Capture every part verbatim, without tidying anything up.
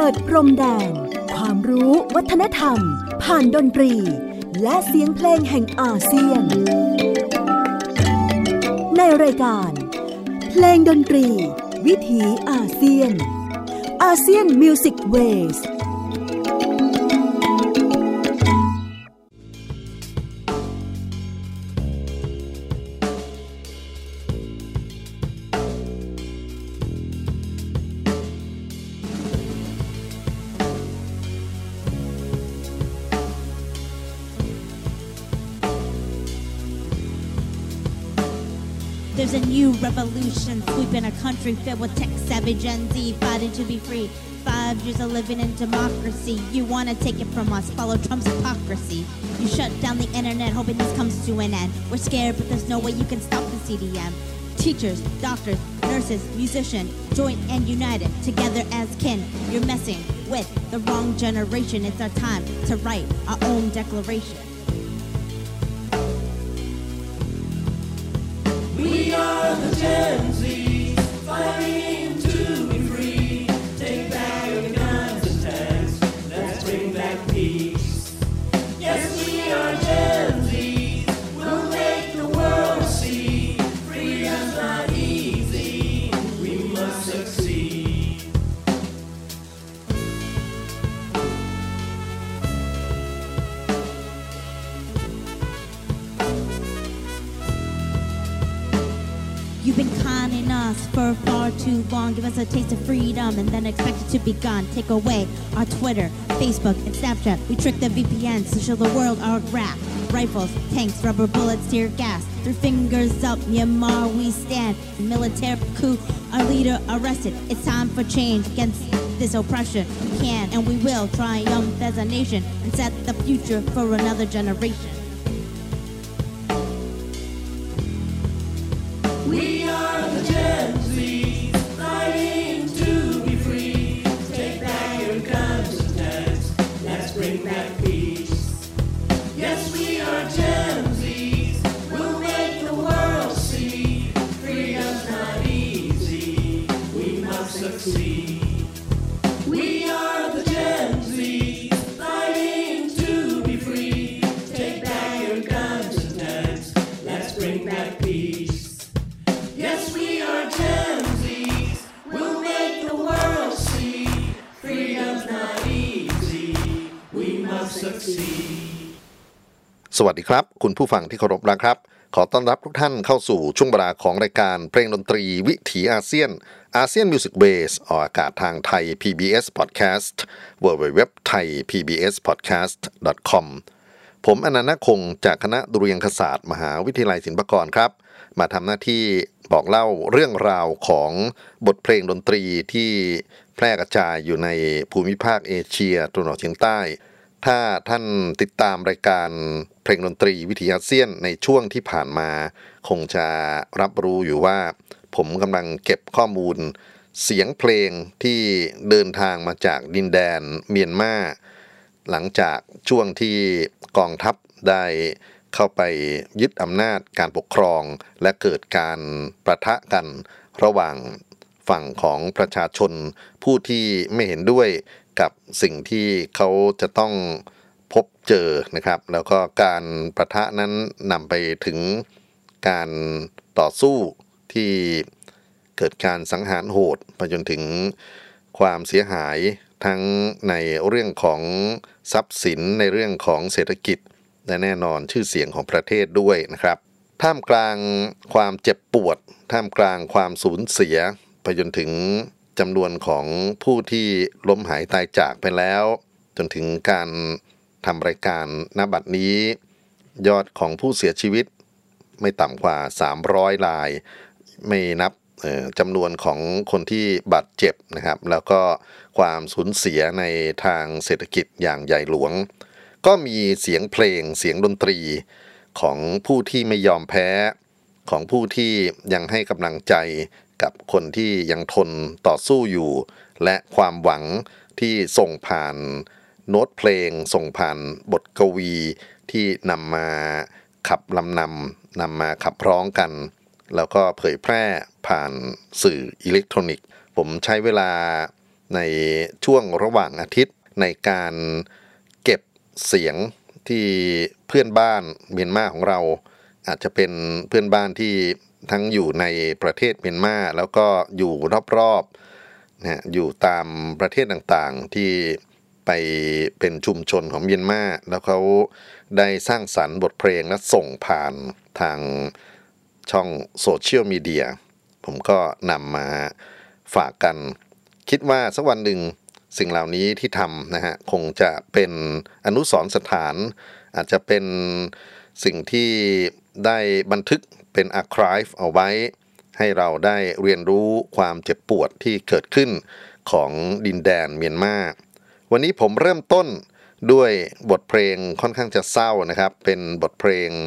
ดพรมแดนความรู้วัฒนธรรมผ่านดนตรีและเสียงเพลงแห่งอาเซียนในรายการเพลงดนตรีวิถีอาเซียนอาเซียนมิวสิกเวส There's a new revolution sweeping a country filled with tech-savvy Gen Z fighting to be free. Five years of living in democracy. You want to take it from us, follow Trump's hypocrisy. You shut down the internet hoping this comes to an end. We're scared, but there's no way you can stop the C D M. Teachers, doctors, nurses, musicians, joined and united, together as kin. You're messing with the wrong generation. It's our time to write our own declaration. We are the Gen Z, fighting to be free. Take back your guns and tanks, let's bring back peace. Yes, we are Gen Z, we'll make the world see. Freedom's not easy, we must succeed. You've been conning us for far too long. Give us a taste of freedom and then expect it to be gone. Take away our Twitter, Facebook, and Snapchat. We trick the V P Ns to show the world our graph. Rifles, tanks, rubber bullets, tear gas. Three fingers up, Myanmar we stand. Military coup, our leader arrested. It's time for change against this oppression. We can and we will triumph as a nation and set the future for another generation. We are the Gen Z, fighting to be free. Take back your guns and tanks, let's bring back peace. Yes, we are Gen Zs, we'll make the world see. Freedom's not easy, we must succeed. We are the Gen Zs, fighting to be free. Take back your guns and tanks, let's bring back peace.Yes, we are Gen Zs, we'll make the world see. Freedom's not easy, we must succeed. สวัสดีครับคุณผู้ฟังที่เคารพนะครับขอต้อนรับทุกท่านเข้าสู่ช่วงเวลาของรายการเพลงดนตรีวิถีอาเซียนอาเซียนมิวสิกเบสออกอากาศทางไทย พี บี เอส Podcast ดับเบิลยู ดับเบิลยู ดับเบิลยู ดอท ไทย พี บี เอส พอดแคสต์ ดอท คอม ผมอนันต์คงจากคณะดุริยางคศาสตร์มหาวิทยาลัยศิลปากรครับมาทำหน้าที่บอกเล่าเรื่องราวของบทเพลงดนตรีที่แพร่กระจายอยู่ในภูมิภาคเอเชียตะวันออกเฉียงใต้ถ้าท่านติดตามรายการเพลงดนตรีวิถีอาเซียนในช่วงที่ผ่านมาคงจะรับรู้อยู่ว่าผมกำลังเก็บข้อมูลเสียงเพลงที่เดินทางมาจากดินแดนเมียนมาหลังจากช่วงที่กองทัพได้เข้าไปยึดอำนาจการปกครองและเกิดการปะทะกันระหว่างฝั่งของประชาชนผู้ที่ไม่เห็นด้วยกับสิ่งที่เขาจะต้องพบเจอนะครับแล้วก็การปะทะนั้นนำไปถึงการต่อสู้ที่เกิดการสังหารโหดไปจนถึงความเสียหายทั้งในเรื่องของทรัพย์สินในเรื่องของเศรษฐกิจและแน่นอนชื่อเสียงของประเทศด้วยนะครับท่ามกลางความเจ็บปวดท่ามกลางความสูญเสียไปจนถึงจำนวนของผู้ที่ล้มหายตายจากไปแล้วจนถึงการทำรายการณบัดนี้ยอดของผู้เสียชีวิตไม่ต่ำกว่าสามร้อยรายไม่นับจำนวนของคนที่บาดเจ็บนะครับแล้วก็ความสูญเสียในทางเศรษฐกิจอย่างใหญ่หลวงก็มีเสียงเพลงเสียงดนตรีของผู้ที่ไม่ยอมแพ้ของผู้ที่ยังให้กำลังใจกับคนที่ยังทนต่อสู้อยู่และความหวังที่ส่งผ่านโน้ตเพลงส่งผ่านบทกวีที่นำมาขับลำนำนำมาขับร้องกันแล้วก็เผยแพร่ผ่านสื่ออิเล็กทรอนิกส์ผมใช้เวลาในช่วงระหว่างอาทิตย์ในการเก็บเสียงที่เพื่อนบ้านเมียนมาของเราอาจจะเป็นเพื่อนบ้านที่ทั้งอยู่ในประเทศเมียนมาแล้วก็อยู่รอบๆนะอยู่ตามประเทศต่างๆที่ไปเป็นชุมชนของเมียนมาแล้วเขาได้สร้างสรรค์บทเพลงและส่งผ่านทางช่องโซเชียลมีเดียผมก็นำมาฝากกันคิดว่าสักวันหนึ่งสิ่งเหล่านี้ที่ทำนะฮะคงจะเป็นอนุสรณ์สถานอาจจะเป็นสิ่งที่ได้บันทึกเป็นอาร์ไคฟ์เอาไว้ให้เราได้เรียนรู้ความเจ็บปวดที่เกิดขึ้นของดินแดนเมียนมาวันนี้ผมเริ่มต้นด้วยบทเพลงค่อนข้างจะเศร้านะครับเป็นบทเพลง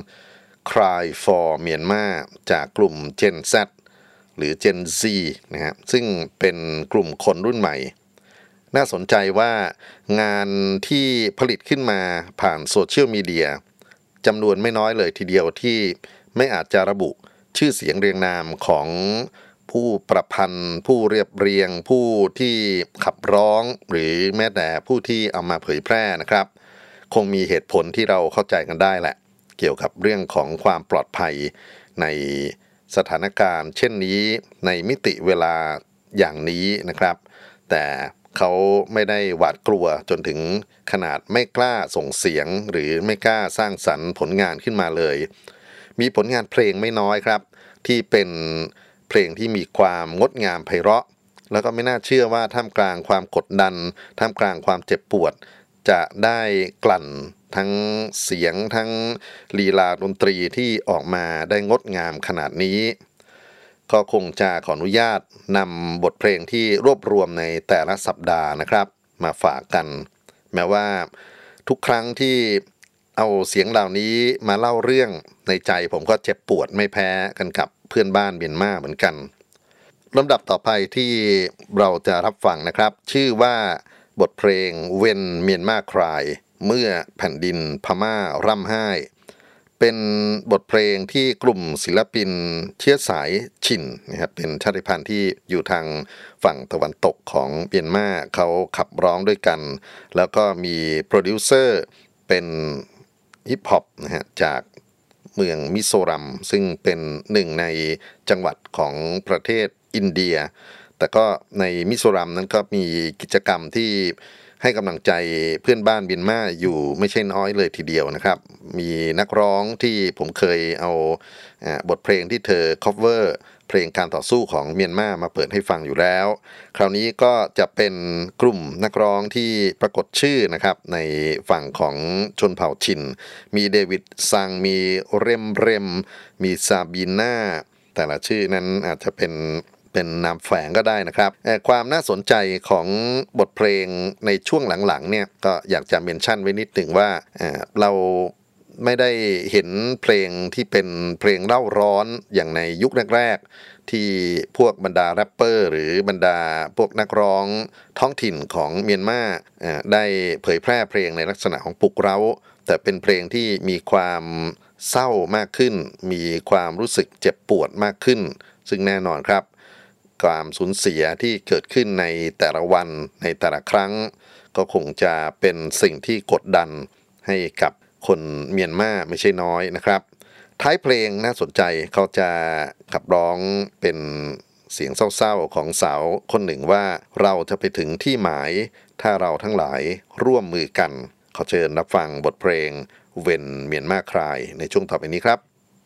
Cry for Myanmar จากกลุ่ม Gen Z หรือ Gen Z นะครับซึ่งเป็นกลุ่มคนรุ่นใหม่น่าสนใจว่างานที่ผลิตขึ้นมาผ่านโซเชียลมีเดียจำนวนไม่น้อยเลยทีเดียวที่ไม่อาจจะระบุชื่อเสียงเรียงนามของผู้ประพันธ์ผู้เรียบเรียงผู้ที่ขับร้องหรือแม้แต่ผู้ที่เอามาเผยแพร่นะครับคงมีเหตุผลที่เราเข้าใจกันได้แหละเกี่ยวกับเรื่องของความปลอดภัยในสถานการณ์เช่นนี้ในมิติเวลาอย่างนี้นะครับแต่เขาไม่ได้หวาดกลัวจนถึงขนาดไม่กล้าส่งเสียงหรือไม่กล้าสร้างสรรค์ผลงานขึ้นมาเลยมีผลงานเพลงไม่น้อยครับที่เป็นเพลงที่มีความงดงามไพเราะแล้วก็ไม่น่าเชื่อว่าท่ามกลางความกดดันท่ามกลางความเจ็บปวดจะได้กลั่นทั้งเสียงทั้งลีลาดนตรีที่ออกมาได้งดงามขนาดนี้ก็คงจะขออนุญาตนำบทเพลงที่รวบรวมในแต่ละสัปดาห์นะครับมาฝากกันแม้ว่าทุกครั้งที่เอาเสียงเหล่านี้มาเล่าเรื่องในใจผมก็เจ็บปวดไม่แพ้กันกับเพื่อนบ้านเมียนมาเหมือนกันลำดับต่อไปที่เราจะรับฟังนะครับชื่อว่าบทเพลง When Myanmar Cry เมื่อแผ่นดินพม่าร่ำไห้เป็นบทเพลงที่กลุ่มศิลปินเชื้อสายชินนะครับเป็นชาติพันธุ์ที่อยู่ทางฝั่งตะวันตกของเมียนมาเขาขับร้องด้วยกันแล้วก็มีโปรดิวเซอร์เป็นฮิปฮอปนะฮะจากเมืองมิโซรัมซึ่งเป็นหนึ่งในจังหวัดของประเทศอินเดียแต่ก็ในมิโซรัมนั้นก็มีกิจกรรมที่ให้กำลังใจเพื่อนบ้านเมียนมาอยู่ไม่ใช่น้อยเลยทีเดียวนะครับมีนักร้องที่ผมเคยเอาบทเพลงที่เธอ cover เพลงการต่อสู้ของเมียนมามาเปิดให้ฟังอยู่แล้วคราวนี้ก็จะเป็นกลุ่มนักร้องที่ปรากฏชื่อนะครับในฝั่งของชนเผ่าชินมีเดวิดซังมีเรมเรมมีซาบีน่าแต่ละชื่อนั้นอาจจะเป็นเป็นนามแฝงก็ได้นะครับความน่าสนใจของบทเพลงในช่วงหลังๆเนี่ยก็อยากจะเมนชั่นไว้นิดหนึ่งว่าเราไม่ได้เห็นเพลงที่เป็นเพลงเล่าร้อนอย่างในยุคแรกๆที่พวกบรรดาแรปเปอร์หรือบรรดาพวกนักร้องท้องถิ่นของเมียนมาได้เผยแพร่เพลงในลักษณะของปลุกเร้าแต่เป็นเพลงที่มีความเศร้ามากขึ้นมีความรู้สึกเจ็บปวดมากขึ้นซึ่งแน่นอนครับความสูญเสียที่เกิดขึ้นในแต่ละวันในแต่ละครั้งก็คงจะเป็นสิ่งที่กดดันให้กับคนเมียนมาไม่ใช่น้อยนะครับท้ายเพลงน่าสนใจเขาจะขับร้องเป็นเสียงเศร้าๆของสาวคนหนึ่งว่าเราจะไปถึงที่หมายถ้าเราทั้งหลายร่วมมือกันขอเชิญรับฟังบทเพลง When Myanmar Cry ในช่วงต่อไปนี้ครับ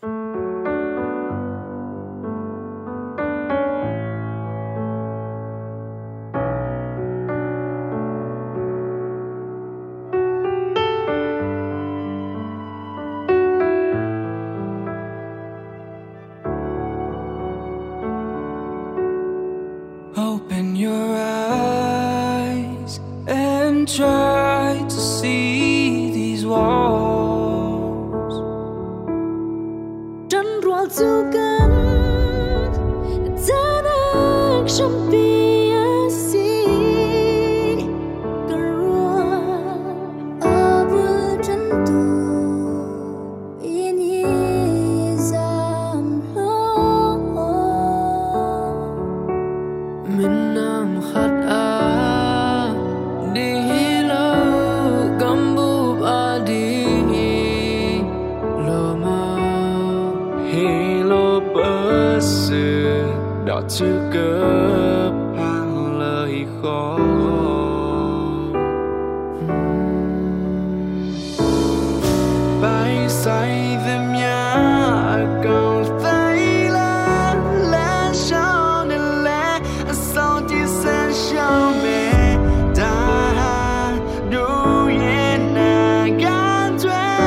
Open your eyes and try to see these walls. Trấn ruột du cân, ta đang trong bia si, cờ ruột ở bờ trấn tu, in izam lo. Mình nằm khát áo. chữ cướp hàng lời khó bay say thêm nhá cầu tay lá lá sao nên lá sao chỉ sẽ sao mẹ đã đủ yên à gan thuê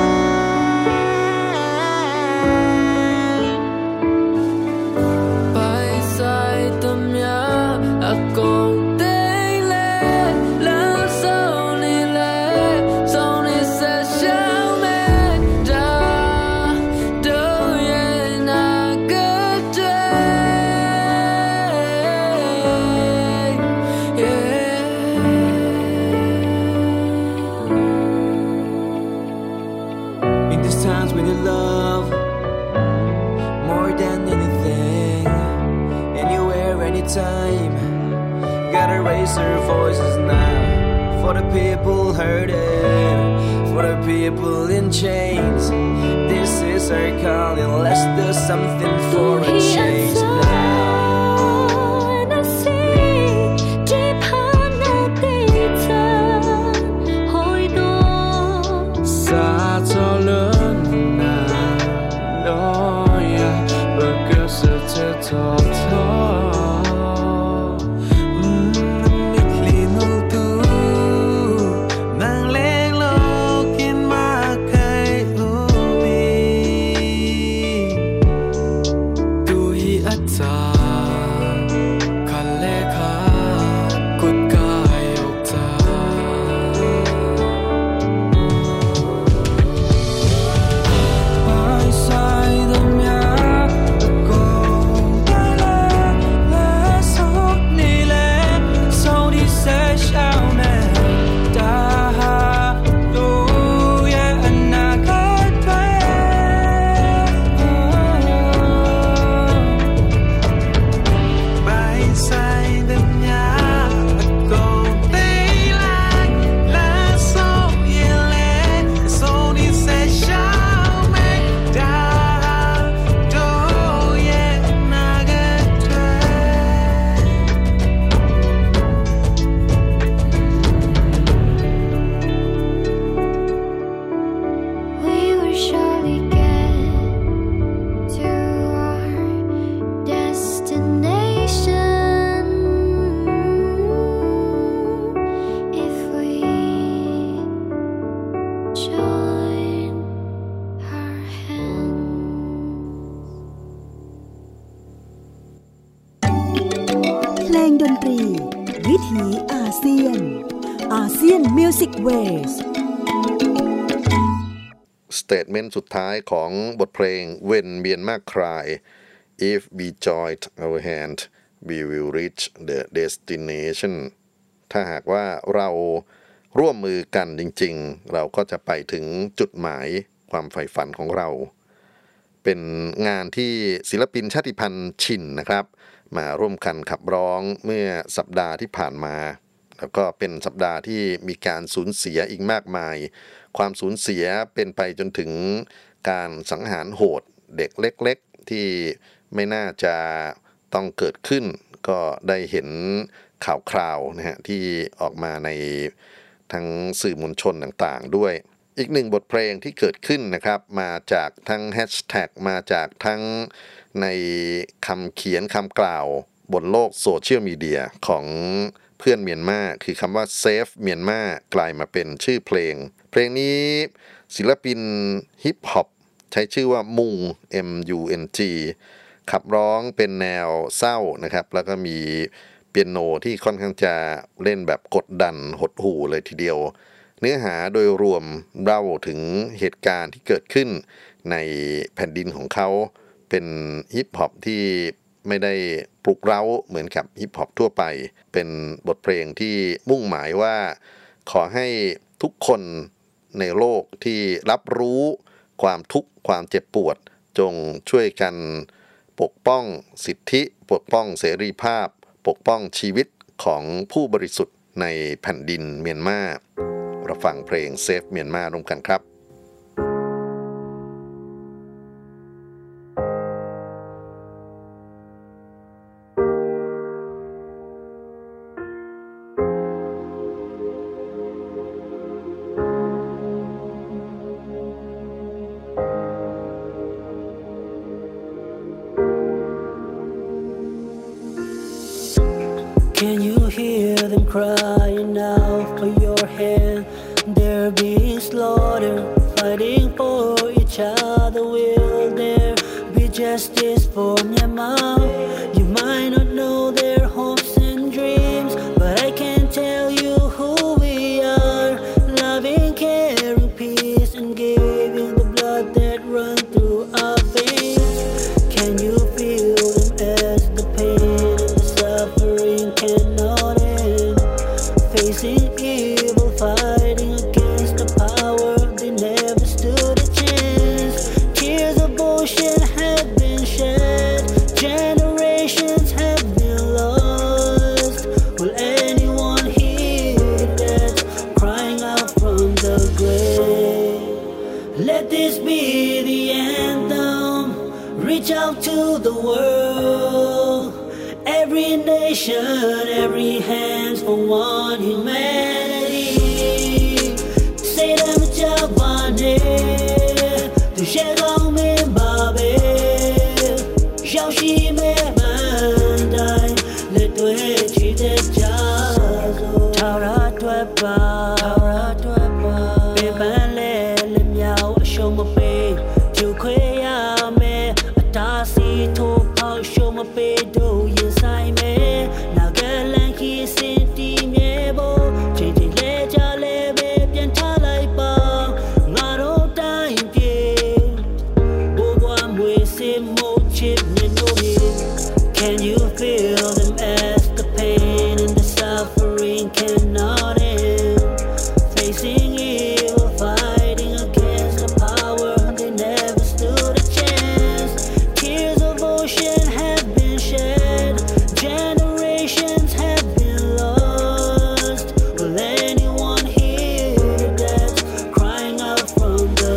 bay say tâm nhá cầu tay lá lá sao nên lá sao nên sẽ sao mẹ đã đủ yên à gan thuê In these times when you love more than anything, anywhere, anytime, gotta raise our voices now for the people hurting, for the people in chains. This is our calling, let's do something for a change now. Xa cho lớn nào đó ya bờ cơ sự chết thọ thọ mình liền hôn tu mang lên lô kiến mà cây ubi tu hi ắt ta khăn lê khá cút ca yêu ta bay say đêm nhá cầu tay lá lá sao đi lẽ sao đi sẽ sao nè đã đủ yên à cái thuê bay say đêm nhá cầu tay lá lá sao yên lẽ sao đi sẽ sao mẹ đã đủ yên à cái thuê We will surely get to our destination if we join our hands. เพลงดนตรี วิถีอาเซียนอาเซียนมิวสิกเวสสเตทเมนต์สุดท้ายของบทเพลง When Myanmar Cry If we join our hand we will reach the destination ถ้าหากว่าเราร่วมมือกันจริงๆเราก็จะไปถึงจุดหมายความใฝ่ฝันของเรา เป็นงานที่ศิลปินชาติพันธุ์ชินนะครับมาร่วมกันขับร้องเมื่อสัปดาห์ที่ผ่านมาแล้วก็เป็นสัปดาห์ที่มีการสูญเสียอีกมากมายความสูญเสียเป็นไปจนถึงการสังหารโหดเด็กเล็กๆที่ไม่น่าจะต้องเกิดขึ้นก็ได้เห็นข่าวคราวนะฮะที่ออกมาในทั้งสื่อมวลชนต่างๆด้วยอีกหนึ่งบทเพลงที่เกิดขึ้นนะครับมาจากทั้งแฮชแท็กมาจากทั้งในคำเขียนคำกล่าวบนโลกโซเชียลมีเดียของเพื่อนเมียนมาคือคำว่า Save เมียนมากลายมาเป็นชื่อเพลงเพลงนี้ศิลปินฮิปฮอปใช้ชื่อว่ามุง M U N G ขับร้องเป็นแนวเศร้านะครับแล้วก็มีเปียโนที่ค่อนข้างจะเล่นแบบกดดันหดหู่เลยทีเดียวเนื้อหาโดยรวมเล่าถึงเหตุการณ์ที่เกิดขึ้นในแผ่นดินของเขาเป็นฮิปฮอปที่ไม่ได้ปลุกเร้าเหมือนกับฮิปฮอปทั่วไปเป็นบทเพลงที่มุ่งหมายว่าขอให้ทุกคนในโลกที่รับรู้ความทุกข์ความเจ็บปวดจงช่วยกันปกป้องสิทธิปกป้องเสรีภาพปกป้องชีวิตของผู้บริสุทธิ์ในแผ่นดินเมียนมาเราฟังเพลง Save เมียนมาร่วมกันครับเ them crying out for your hand. They're being slaughtered, fighting for each other. Will there be justice for Myanmar? You might not know their hopes and dreams, but I can tell you who we are. Loving, caring, peace, and giving the blood that runs through our veins. Can you feel them as the pain and the suffering cannot end? Facing evil, fighting against the power, they never stood a chance. Tears of ocean have been shed, generations have been lost. Will anyone hear that crying out from the grave? Let this be the anthem, reach out to the world. Every nation, every hand's for one humanity. Say them Javane, tu shegao me babe, xiao xi me bandai, le tue chi de jazo. Tara tue ba, tara tue ba, pe ban le le miao show ma pe, tu kwe ya me, ata si to pao show ma pe do yin sai me. Na galan ki sin ti me bo, chin chin le ja le be pian tha lai ba, nga ro tai pie, bo bwa mwe se mo chip ne no me. Can you feel them as the pain and the suffering cannot end? Facing evil, fighting against the power, they never stood a chance. Tears of ocean have been shed, generations have been lost. Will anyone hear that's crying out from the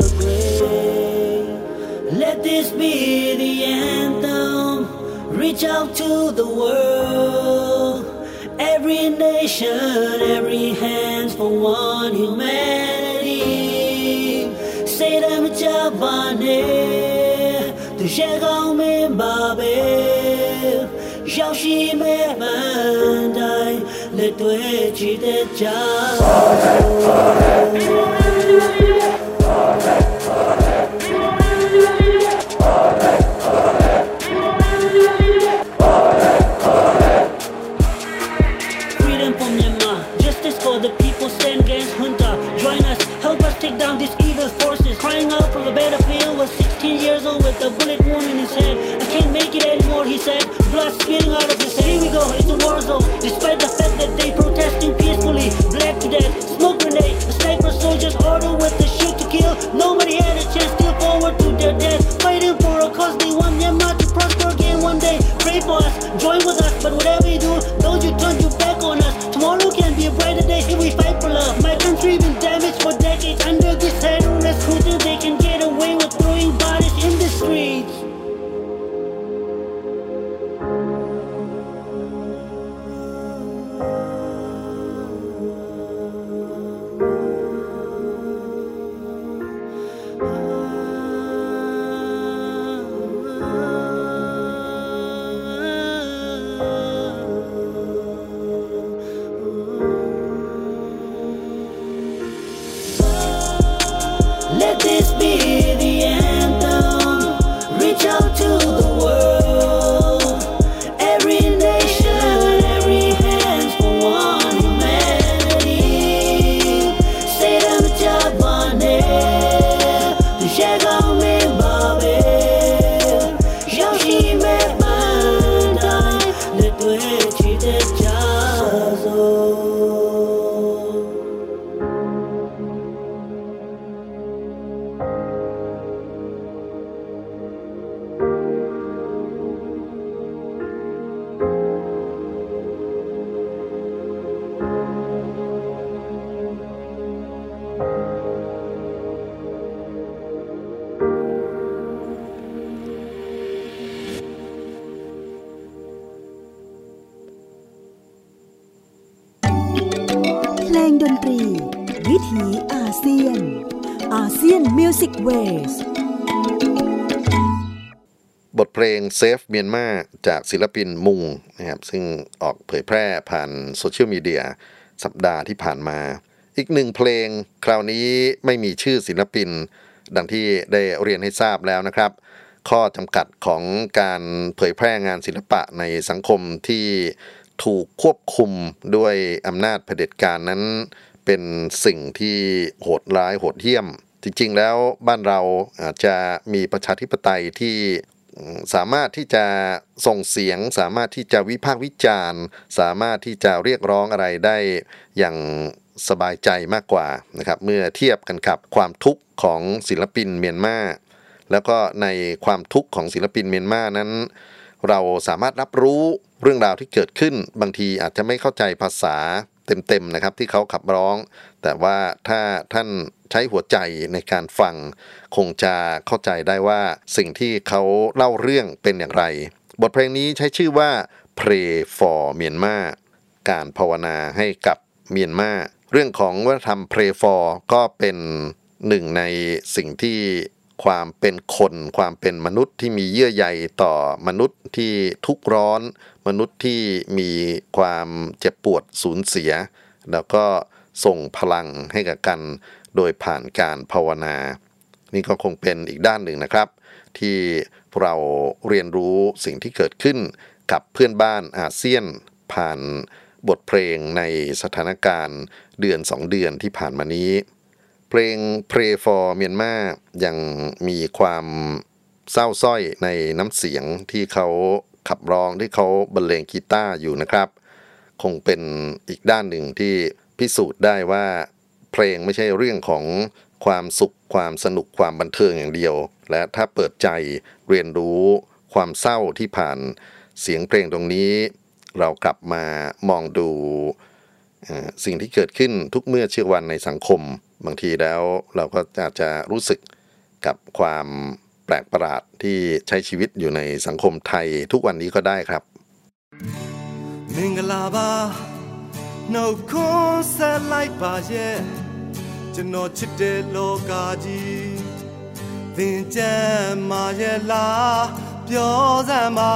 grave? Let this be the anthem, reach out to the world. Every nation, every hand's for one humanity. Say them Javane, tu shegao me babe, xiao xi me bandai, le tue chi de jazo. Freedom for Myanmar, justice for the people, stand against junta. Join us, help us take down these evil forces. Crying out from the battlefield was sixteen years old with a bullet wound in his head. I can't make it anymore, he said, blood spilling out of his head. Here we go, it's a war zone. Despite the fact that they protesting peacefully, black to death, smoke grenade, the sniper soldiers order with the shoot to kill. Nobody had a chance, still forward to their death. Fighting for a cause, they want Myanmar to prosper again one day. Pray for us, join with us, but whatever you do, don't you turn your back on us. Tomorrow can be a brighter day if we fight for love. My country been damaged for decades under this terrorist recruiter. They can get away with throwing bodies in the streets. Let this be the anthem, reach out to the world. Every nation, every hand's for one humanity. Say them Javane, tu shegao me babe, xiao xi me bandai, le tue chi de jazo. เพลงดนตรีวิถีอาเซียนอาเซียนมิวสิกเวสบทเพลง Save Myanmar จากศิลปินมุงนะครับซึ่งออกเผยแพร่ผ่านโซเชียลมีเดียสัปดาห์ที่ผ่านมาอีกหนึ่งเพลงคราวนี้ไม่มีชื่อศิลปินดังที่ได้เรียนให้ทราบแล้วนะครับข้อจำกัดของการเผยแพร่งานศิลปะในสังคมที่ถูกควบคุมด้วยอำนาจเผด็จการนั้นเป็นสิ่งที่โหดร้ายโหดเหี้ยมจริงๆแล้วบ้านเราอาจจะมีประชาธิปไตยที่สามารถที่จะส่งเสียงสามารถที่จะวิพากษ์วิจารณ์สามารถที่จะเรียกร้องอะไรได้อย่างสบายใจมากกว่านะครับเมื่อเทียบกันกับความทุกข์ของศิลปินเมียนมาแล้วก็ในความทุกข์ของศิลปินเมียนมานั้นเราสามารถรับรู้เรื่องราวที่เกิดขึ้นบางทีอาจจะไม่เข้าใจภาษาเต็มๆนะครับที่เขาขับร้องแต่ว่าถ้าท่านใช้หัวใจในการฟังคงจะเข้าใจได้ว่าสิ่งที่เขาเล่าเรื่องเป็นอย่างไรบทเพลงนี้ใช้ชื่อว่า Pray for Myanmar การภาวนาให้กับเมียนมาเรื่องของวัฒนธรรม Pray for ก็เป็นหนึ่งในสิ่งที่ความเป็นคนความเป็นมนุษย์ที่มีเยื่อใยต่อมนุษย์ที่ทุกข์ร้อนมนุษย์ที่มีความเจ็บปวดสูญเสียแล้วก็ส่งพลังให้กับกันโดยผ่านการภาวนานี่ก็คงเป็นอีกด้านหนึ่งนะครับที่เราเรียนรู้สิ่งที่เกิดขึ้นกับเพื่อนบ้านอาเซียนผ่านบทเพลงในสถานการณ์เดือนสองเดือนที่ผ่านมานี้เพลง Pray for Myanmar ยังมีความเศร้าส้อยในน้ำเสียงที่เขาขับร้องที่เขาบรรเลงกีตาร์อยู่นะครับคงเป็นอีกด้านหนึ่งที่พิสูจน์ได้ว่าเพลงไม่ใช่เรื่องของความสุขความสนุกความบันเทิงอย่างเดียวและถ้าเปิดใจเรียนรู้ความเศร้าที่ผ่านเสียงเพลงตรงนี้เรากลับมามองดูสิ่งที่เกิดขึ้นทุกเมื่อเชื่อวันในสังคมบางทีแล้วเราก็อาจจะรู้สึกกับความแปลกประหลาดที่ใช้ชีวิตอยู่ในสังคมไทยทุกวันนี้ก็ได้ครับมင်္ဂလာပါနှုတ်ခွန်းဆက်လိုက်ပါရဲ့ကျွန်တော်ချစ်တဲ့လောကကြီးသင်ကြမ်းမာရဲ့လားပြောစမ်းပါ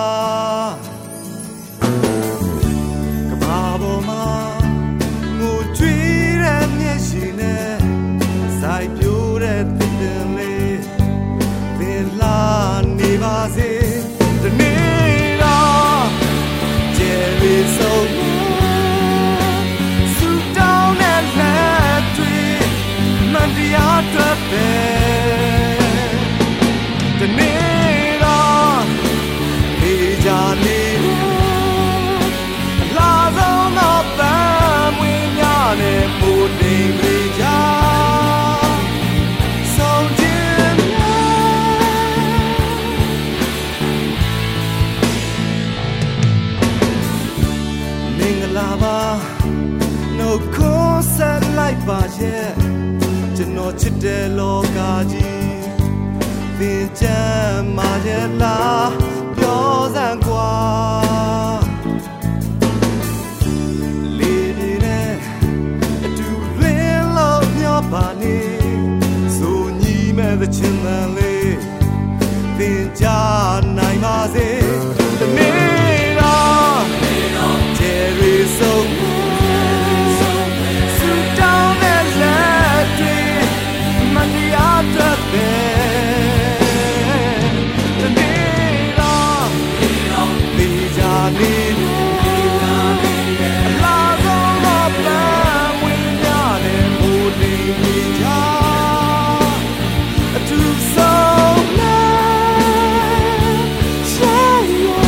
ကဘာပေါ်မှာငိုကြွေးတဲ့မျက်ရှိနဲ့စိုက်ပြိုးတဲ့သစ်ပင်လေးသင်လာနေပါစေဒီနေ့တော့ကျယ်ရီဆုံးစူတောင်းတဲ့လက်တွေမှန်တရားတွေ့ပဲဒီနေ့တော့ဒီကြနေလာဆုံးတော့ပန်းမွေးများနဲ့ပိုတိမ်လေးကြဆုံးခြင်းမင်္ဂလာပါနှုတ်ခွန်းဆက်လိုက်ပါရဲ့ကျွန်တော်ချစ်တဲ့လောကကြီးသင်ကြမ်းမာရဲ့လားပြောစမ်းကွာလေးနေနဲ့အတူလင်းလို့မျောပါနေဆိုညီမဲ့တဲ့ချင်တယ်လေးသင်ကြနိုင်ပါစေဒီနေ့တော့ကျယ်ရီဆုံးစူတောင်းတဲ့လက်တွေမှန်တရားတွေ့ပဲဒီနေ့တော့ဒီကြနေအလားဆုံးတော့ပန်းမွေးများနဲ့ဘူနေကြအထူးဆုံးလားရှာရ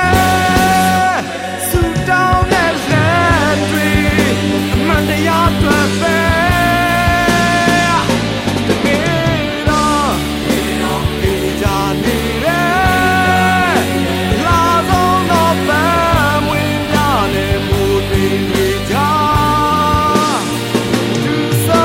สุดดาวแน่แน่ตรีมันได้ยอดตัวเฟ้แต่เมื่ออีจานีเร่ลาโซโนแฟมวิญญาณมูดีวิจาดูโซ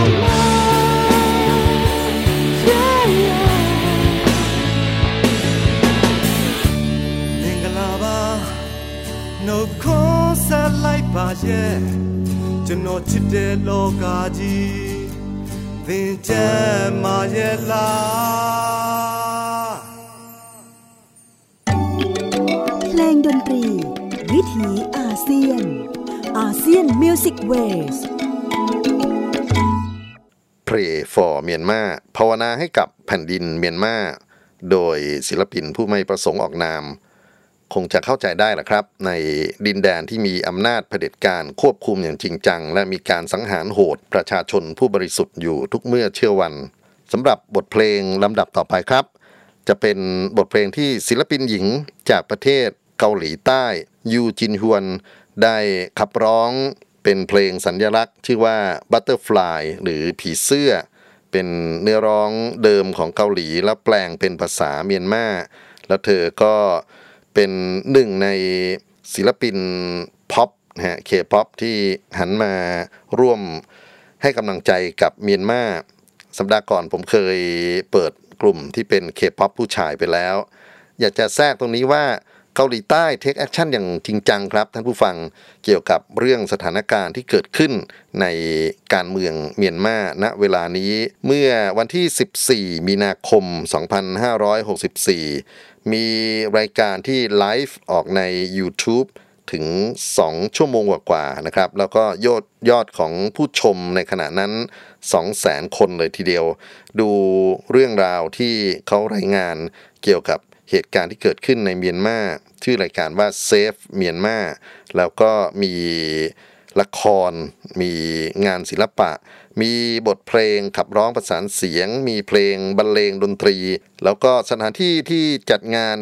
No concert like ပါရဲ့ကျွန်တော်ချစ်တဲ့လောကကြီးသင်ချမ်းမာရဲ့လားเพลงดนตรีวิถีอาเซียนอาเซียนมิวสิกเวส Pray for เมียนมาภาวนาให้กับแผ่นดินเมียนมาโดยศิลปินผู้ไม่ประสงค์ออกนามคงจะเข้าใจได้แหละครับในดินแดนที่มีอำนาจเผด็จการควบคุมอย่างจริงจังและมีการสังหารโหดประชาชนผู้บริสุทธิ์อยู่ทุกเมื่อเชื่อวันสำหรับบทเพลงลำดับต่อไปครับจะเป็นบทเพลงที่ศิลปินหญิงจากประเทศเกาหลีใต้ยูจินฮวนได้ขับร้องเป็นเพลงสัญลักษณ์ชื่อว่า Butterfly หรือผีเสื้อเป็นเนื้อร้องเดิมของเกาหลีแล้วแปลงเป็นภาษาเมียนมาแล้วเธอก็เป็นหนึ่งในศิลปินพ็อปนะฮะ K-pop ที่หันมาร่วมให้กำลังใจกับเมียนมาสัปดาห์ก่อนผมเคยเปิดกลุ่มที่เป็น K-pop ผู้ชายไปแล้วอยากจะแทรกตรงนี้ว่าเกาหลีใต้เทคแอคชั่นอย่างจริงจังครับท่านผู้ฟังเกี่ยวกับเรื่องสถานการณ์ที่เกิดขึ้นในการเมืองเมียนมาณเวลานี้เมื่อวันที่สิบสี่มีนาคมสองพันห้าร้อยหกสิบสี่มีรายการที่ไลฟ์ออกใน YouTube ถึงสองชั่วโมงกว่าๆนะครับแล้วก็ยอดยอดของผู้ชมในขณะนั้น สองแสน คนเลยทีเดียวดูเรื่องราวที่เขารายงานเกี่ยวกับเหตุการณ์ที่เกิดขึ้นในเมียนมาชื่อรายการว่า Save เมียนมาแล้วก็มีละครมีงานศิลปะมีบทเพลงขับร้องประสานเสียงมีเพลงบรรเลงดนตรีแล้วก็สถานที่ที่จัดงาน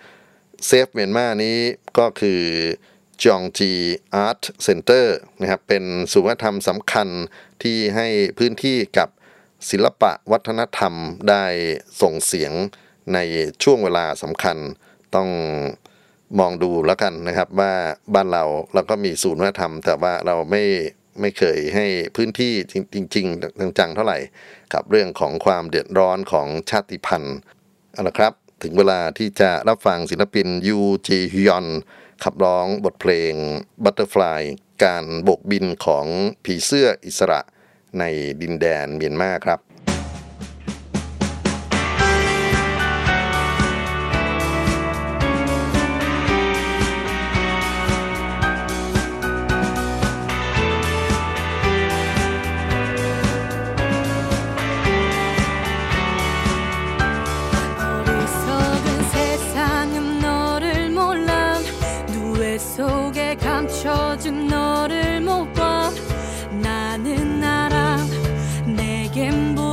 Save เมียนมานี้ก็คือจองจีอาร์ตเซ็นเตอร์นะครับเป็นศูนย์วัฒนธรรมสำคัญที่ให้พื้นที่กับศิลปะวัฒนธรรมได้ส่งเสียงในช่วงเวลาสำคัญต้องมองดูแล้วกันนะครับว่าบ้านเราเราก็มีศูนย์วัฒนธรรมแต่ว่าเราไม่ไม่เคยให้พื้นที่จริงๆจังๆเท่าไหร่กับเรื่องของความเดือดร้อนของชาติพันธุ์เอาละครับถึงเวลาที่จะรับฟังศิลปินยูจีฮยอนขับร้องบทเพลง Butterfly การโบกบินของผีเสื้ออิสระในดินแดนเมียนมาครับ 준 너를 못 봐 나는 알아 내겐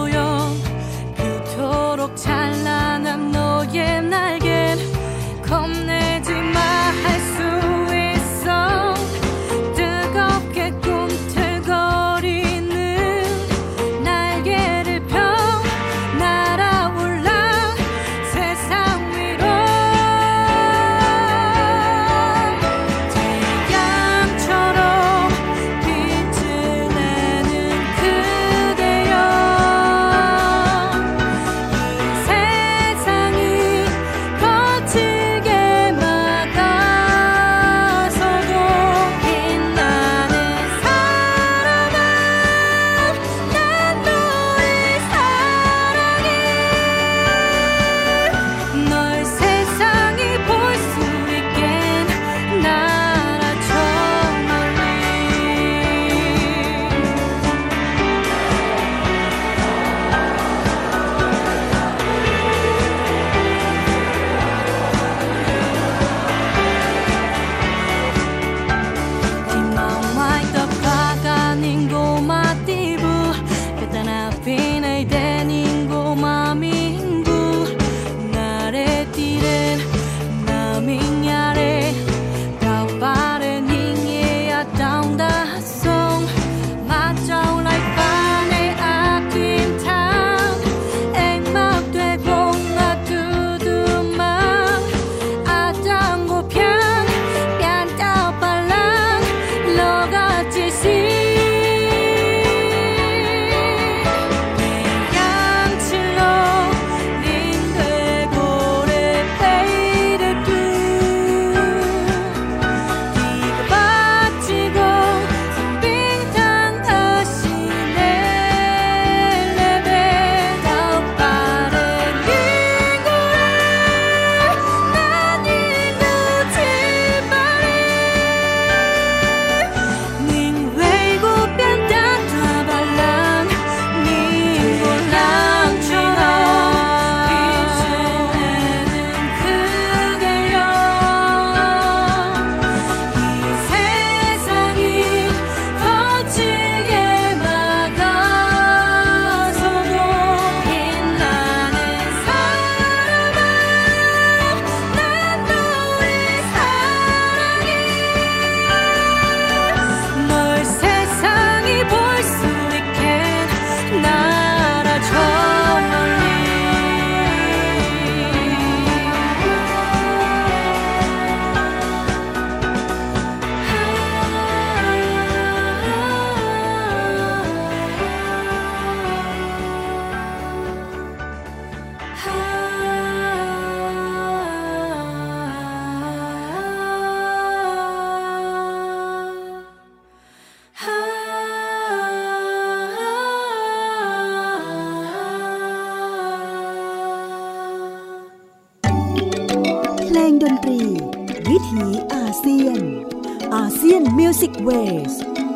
ถีอาเซียนอาเซียนมิวสิกเวส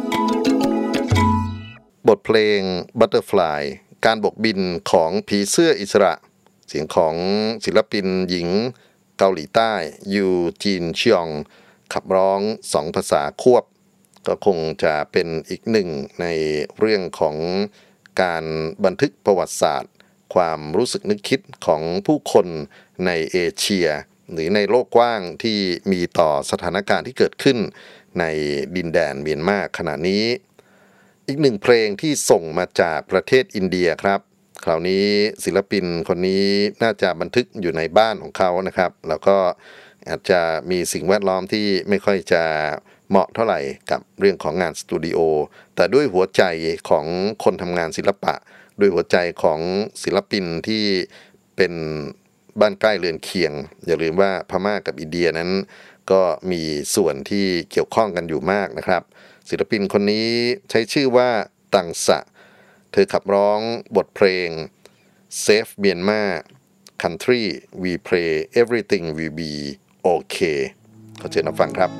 บทเพลง Butterfly การบกบินของผีเสื้ออิสระเสียงของศิลปินหญิงเกาหลีใต้ยูจีนชิยองขับร้องสองภาษาควบก็คงจะเป็นอีกหนึ่งในเรื่องของการบันทึกประวัติศาสตร์ความรู้สึกนึกคิดของผู้คนในเอเชียหรือในโลกกว้างที่มีต่อสถานการณ์ที่เกิดขึ้นในดินแดนเมียนมาขณะนี้อีกหนึ่งเพลงที่ส่งมาจากประเทศอินเดียครับคราวนี้ศิลปินคนนี้น่าจะบันทึกอยู่ในบ้านของเขานะครับแล้วก็อาจจะมีสิ่งแวดล้อมที่ไม่ค่อยจะเหมาะเท่าไหร่กับเรื่องของงานสตูดิโอแต่ด้วยหัวใจของคนทำงานศิลปะด้วยหัวใจของศิลปินที่เป็นบ้านใกล้เรือนเคียงอย่าลืมว่าพม่ากับอินเดียนั้นก็มีส่วนที่เกี่ยวข้องกันอยู่มากนะครับศิลปินคนนี้ใช้ชื่อว่าตังสะเธอขับร้องบทเพลง Save Myanmar Country We Pray Everything Will Be Okay ขอเชิญรับฟังครับ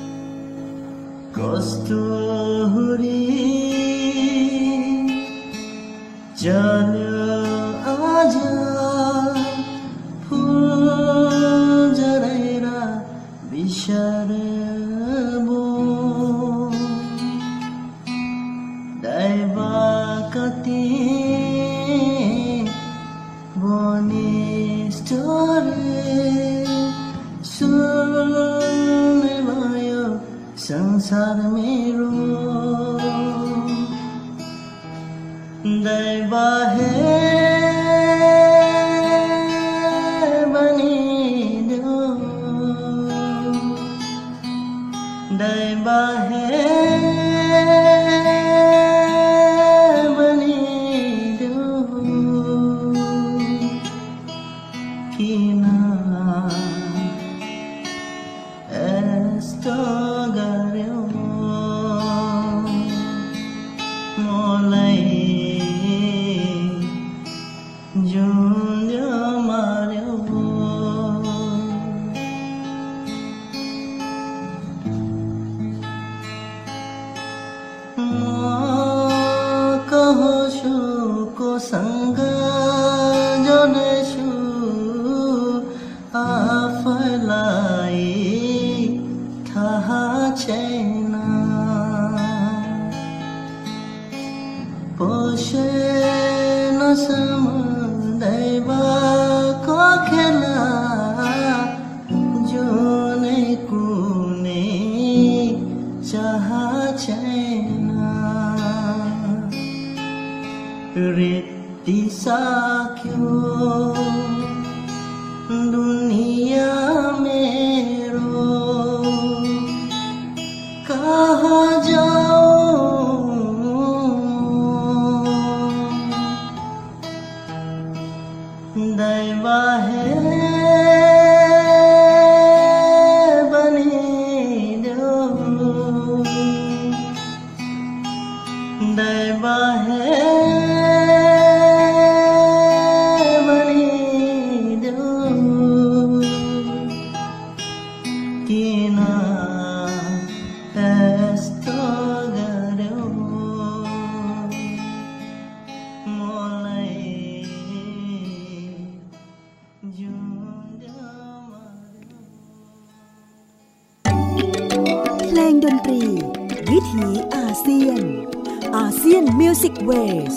Kasturi Jana aja Phul jaraira bisharabo Daiva kati boni story sunne vayo संसार मेरो दैवा है बनी दो दैवा है बनी दो कीना esto संग जोड़ेशु आफलाई था चैना पोषे न समुदैवा को खेला जो ने कुने चाह चैना रेती सा क्यों दुनिया में रो कहाँ जाऊं दैवा है बनी दो दैवा है เพลงดนตรีวิถีอาเซียนอาเซียนมิวสิกเวส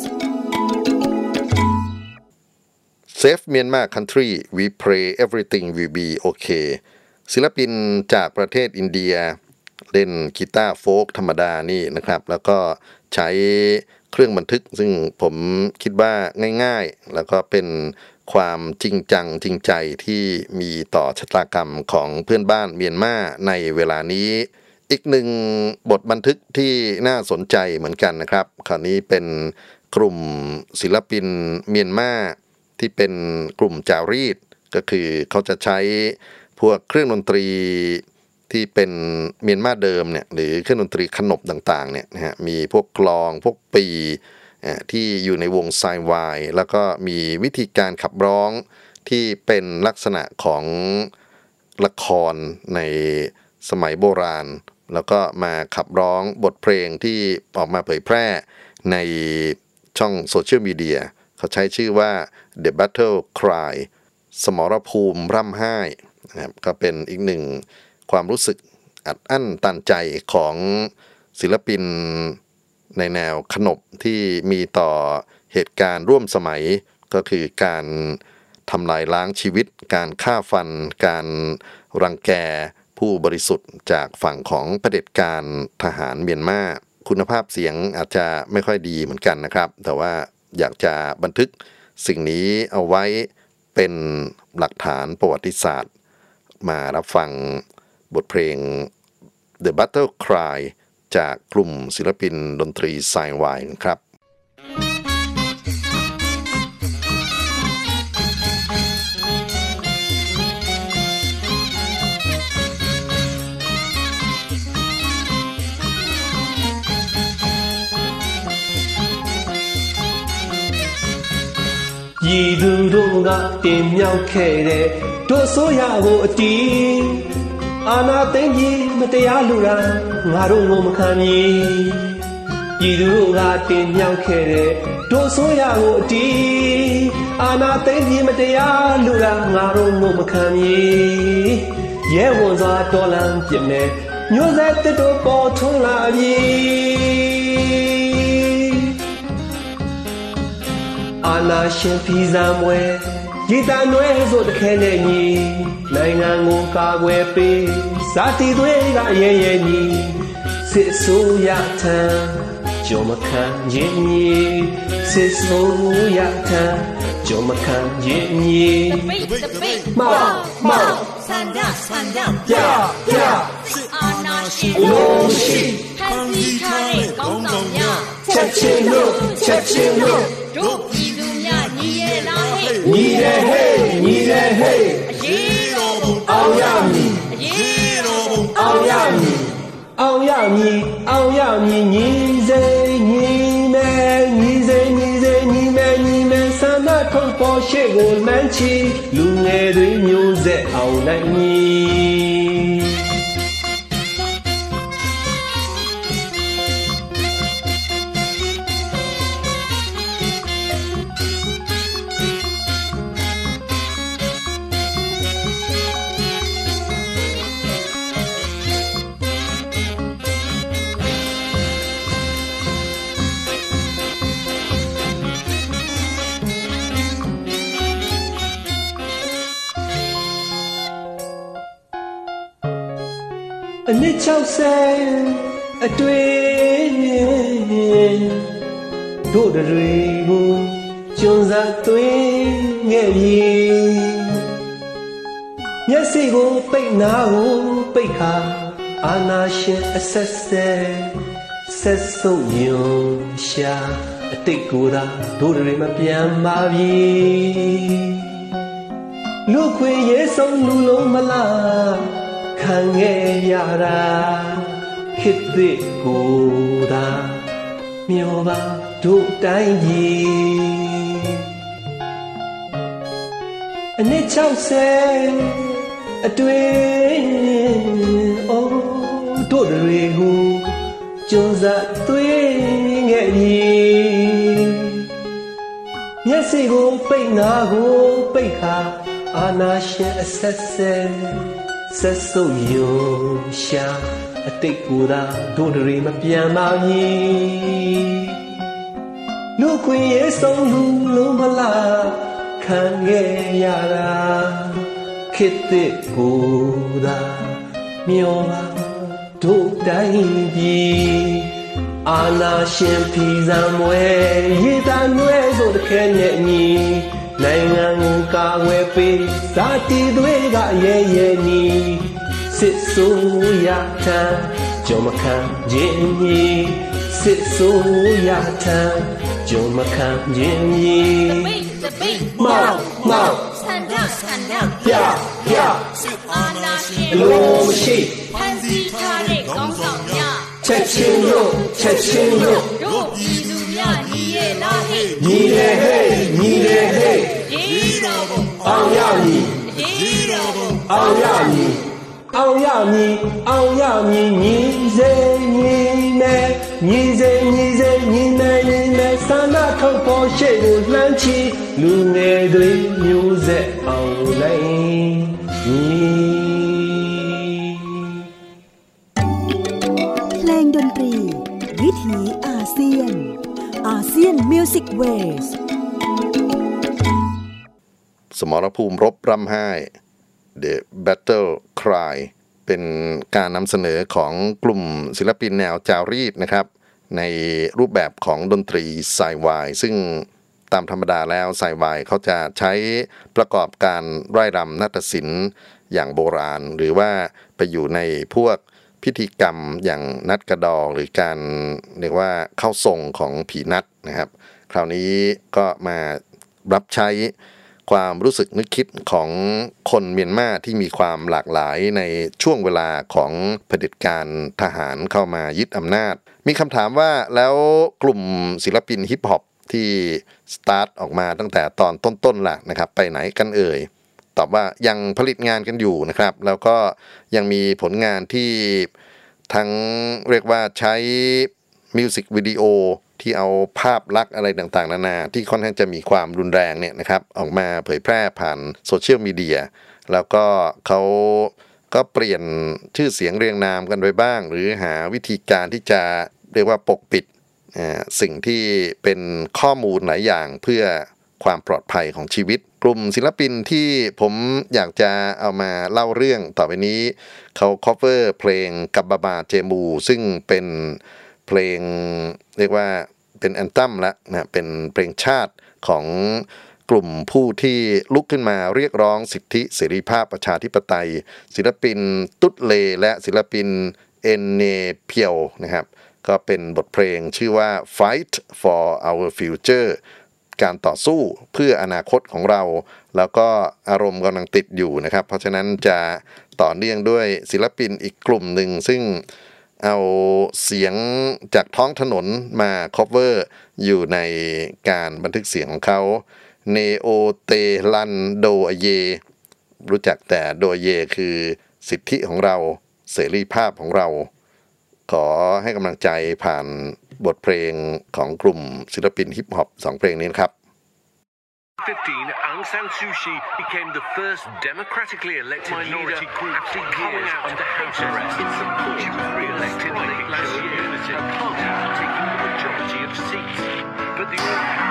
Save Myanmar Country We Pray Everything Will Be Okay ศิลปินจากประเทศอินเดียเล่นกีตาร์โฟล์กธรรมดานี่นะครับแล้วก็ใช้เครื่องบันทึกซึ่งผมคิดว่าง่ายๆแล้วก็เป็นความจริงจังจริงใจที่มีต่อชะตากรรมของเพื่อนบ้านเมียนมาในเวลานี้อีกหนึ่งบทบันทึกที่น่าสนใจเหมือนกันนะครับคราวนี้เป็นกลุ่มศิลปินเมียนมาที่เป็นกลุ่มจารีตก็คือเขาจะใช้พวกเครื่องดนตรีที่เป็นเมียนมาเดิมเนี่ยหรือเครื่องดนตรีขนบต่างๆเนี่ยนะฮะมีพวกกลองพวกปีที่อยู่ในวงไซวายแล้วก็มีวิธีการขับร้องที่เป็นลักษณะของละครในสมัยโบราณแล้วก็มาขับร้องบทเพลงที่ออกมาเผยแพร่ในช่องโซเชียลมีเดียเขาใช้ชื่อว่า The Battle Cry สมรภูมิร่ำไห้นะครับก็เป็นอีกหนึ่งความรู้สึกอัดอั้นตันใจของศิลปินในแนวขนบที่มีต่อเหตุการณ์ร่วมสมัยก็คือการทำลายล้างชีวิตการฆ่าฟันการรังแกผู้บริสุทธิ์จากฝั่งของเผด็จการทหารเมียนมาคุณภาพเสียงอาจจะไม่ค่อยดีเหมือนกันนะครับแต่ว่าอยากจะบันทึกสิ่งนี้เอาไว้เป็นหลักฐานประวัติศาสตร์มารับฟังบทเพลง The Battle Cry จากกลุ่มศิลปินดนตรีไซน์ไวน์ครับရည်သူတို့ကတင်မြောက်ခဲ့တဲ့တို့ဆိုရကိုအတီးအာနာသိမ့်ကြီးမတရားလူတာငါတို့ငုံမခံမီရည်သူတို့ကတင်မြောက်ခဲ့တဲ့တို့ဆိုရကိုအတီးအာနာသိမ့်ကြီးမတရားလူတာငါတို့ငုံမခံမီရဲဝန်စွာတော်လန်ပြစ်မဲ့မျိုးဆက်တစ်တို့ပေါ်ထွန်းလာပြီအာနာရှင်ဖီဇံမွဲရည်တန်ွဲဆိုတခဲနဲ့ညီနိုင်ငံကိုကာကွယ်ပေးဇာတိတွေကရဲရဲညီစစ်ဆိုးရထံကြောမခံခြင်းညီစစ်ဆိုးရထံကြောမခံခြင်းညီမောင်မောင်ဆန္ဒဆန္ဒပြပြအာနာရှင်လုံးရှိဖန်တီးထားတဲ့ကောင်းဆောင်များချက်ချင်းလို့ချက်ချင်းလို့တို့ပြည်သူများညီရဲလားဟဲ့ညီရဲဟဲ့ညီရဲဟဲ့အရေးတော်ဘုံအောင်ရမည်အရေးတော်ဘုံအောင်ရမည်အောင်ရမည်အောင်ရမည်ညီစိညီမဲညီစိညီစိညီမဲညီမဲဆန္ဒထုတ်ပေါ်ရှေ့ကိုမှန်းချီလူငယ်တွေမျိုးဆက်အောင်နိုင်မည်အနစ်ချောက်ဆယ်အတွေ့တို့တွေကိုကျွန်းစားသွင်းငဲ့ပြီမျက်စိကိုပိတ်နာကိုပိတ်ခါအာနာရှင်အဆက်ဆက်ဆက်ဆုံးယုံရှာအတိတ်ကိုယ်သာတို့တွေမပြန်ပါပြီလူခွေရေးဆုံးလူလုံးမလားခံခဲ့ရတာခေတ်သစ်ကိုသာမျောပါတို့တိုင်းကြီးအနစ်ချောက်ဆယ်အတွေ့အိုးတို့တွေကိုကျွန်းစားသွင်းခဲ့ပြီမျက်စိကိုပိတ်နာကိုပိတ်ခါအာနာရှင်အဆက်ဆက်ဆက်စုပ်ယုံရှာအတိတ်ကိုယ်သာတို့တွေမပြန်ပါဘူးလူခွေရေးဆုံးလူလုံးမလားခံခဲ့ရတာခေတ်သစ်ကိုယ်သာမျောပါတို့တိုင်းပြည်အာနာရှင်ဖီဇံမွဲရည်တန်ွဲဆိုတခဲနဲ့ညီနိုင်ငံကိုကာကွယ်ပေးဇာတိတွေကရဲရဲညီစစ်ဆိုးရထံကြောမခံခြင်းညီစစ်ဆိုးရထံကြောမခံခြင်းညီမောင်မောင်ဆန္ဒဆန္ဒပြပြစစ်အာဏာရှင်လုံးမရှိဖန်ဆီးထားတဲ့ကောင်းဆောင်များချက်ချင်းလို့ချက်ချင်းလို့တို့ပြည်သူများညီရဲ့လားဟဲ့ညီရဲ့ဟဲ့ညီရဲ့ဟဲ့ရေးတော်ဘုံအောင်ရမည်ရေးတော်ဘုံအောင်ရမည်အောင်ရမည်အောင်ရမည်ညီစေညီမယ်ညီစေညီစေညီမယ်ညီမယ်ဆန္ဒထုတ်ပေါ်ရှေ့ကိုလှမ်းချီလူငယ်တွေမျိုးဆက်အောင်လိုက်ညီเพลงดนตรีวิถีอาเซียนอาเซียนมิวสิกเวสสมรภูมิรบร่ำไห้ The Battle Cry เป็นการนำเสนอของกลุ่มศิลปินแนวจารีตนะครับในรูปแบบของดนตรีไซวายซึ่งตามธรรมดาแล้วไซวายเขาจะใช้ประกอบการไร่รำนาฏศิลป์อย่างโบราณหรือว่าไปอยู่ในพวกพิธีกรรมอย่างนัดกระดองหรือการเรียกว่าเข้าทรงของผีนัดนะครับคราวนี้ก็มารับใช้ความรู้สึกนึกคิดของคนเมียนมาที่มีความหลากหลายในช่วงเวลาของเผด็จการทหารเข้ามายึดอำนาจมีคำถามว่าแล้วกลุ่มศิลปินฮิปฮอปที่สตาร์ทออกมาตั้งแต่ตอนต้นๆล่ะนะครับไปไหนกันเอ่ยตอบว่ายังผลิตงานกันอยู่นะครับแล้วก็ยังมีผลงานที่ทั้งเรียกว่าใช้มิวสิกวิดีโอที่เอาภาพลักษณ์อะไรต่างๆนานาที่ค่อนข้างจะมีความรุนแรงเนี่ยนะครับออกมาเผยแพร่ผ่านโซเชียลมีเดียแล้วก็เขาก็เปลี่ยนชื่อเสียงเรียงนามกันไปบ้างหรือหาวิธีการที่จะเรียกว่าปกปิดสิ่งที่เป็นข้อมูลหลายอย่างเพื่อความปลอดภัยของชีวิตกลุ่มศิลปินที่ผมอยากจะเอามาเล่าเรื่องต่อไปนี้เขา cover เพลงกับบาบาเจมูซึ่งเป็นเพลงเรียกว่าเป็นแอนทัมละนะเป็นเพลงชาติของกลุ่มผู้ที่ลุกขึ้นมาเรียกร้องสิทธิเสรีภาพประชาธิปไตยศิลปินตุ๊ดเลและศิลปินเอนเนเพียวนะครับก็เป็นบทเพลงชื่อว่า Fight for Our Future การต่อสู้เพื่ออนาคตของเราแล้วก็อารมณ์กำลังติดอยู่นะครับเพราะฉะนั้นจะต่อเนื่องด้วยศิลปินอีกกลุ่มหนึ่งซึ่งเอาเสียงจากท้องถนนมา cover อยู่ในการบันทึกเสียงของเขาเนโอเตลันโดเยรู้จักแต่โดเยคือสิทธิของเราเสรีภาพของเราขอให้กำลังใจผ่านบทเพลงของกลุ่มศิลปินฮิปฮอปสองเพลงนี้ครับ fifteen, Aung San Suu Kyi became the first democratically elected minority group after coming out under house arrest. She was re-elected last year, her party taking the majority of seats. But the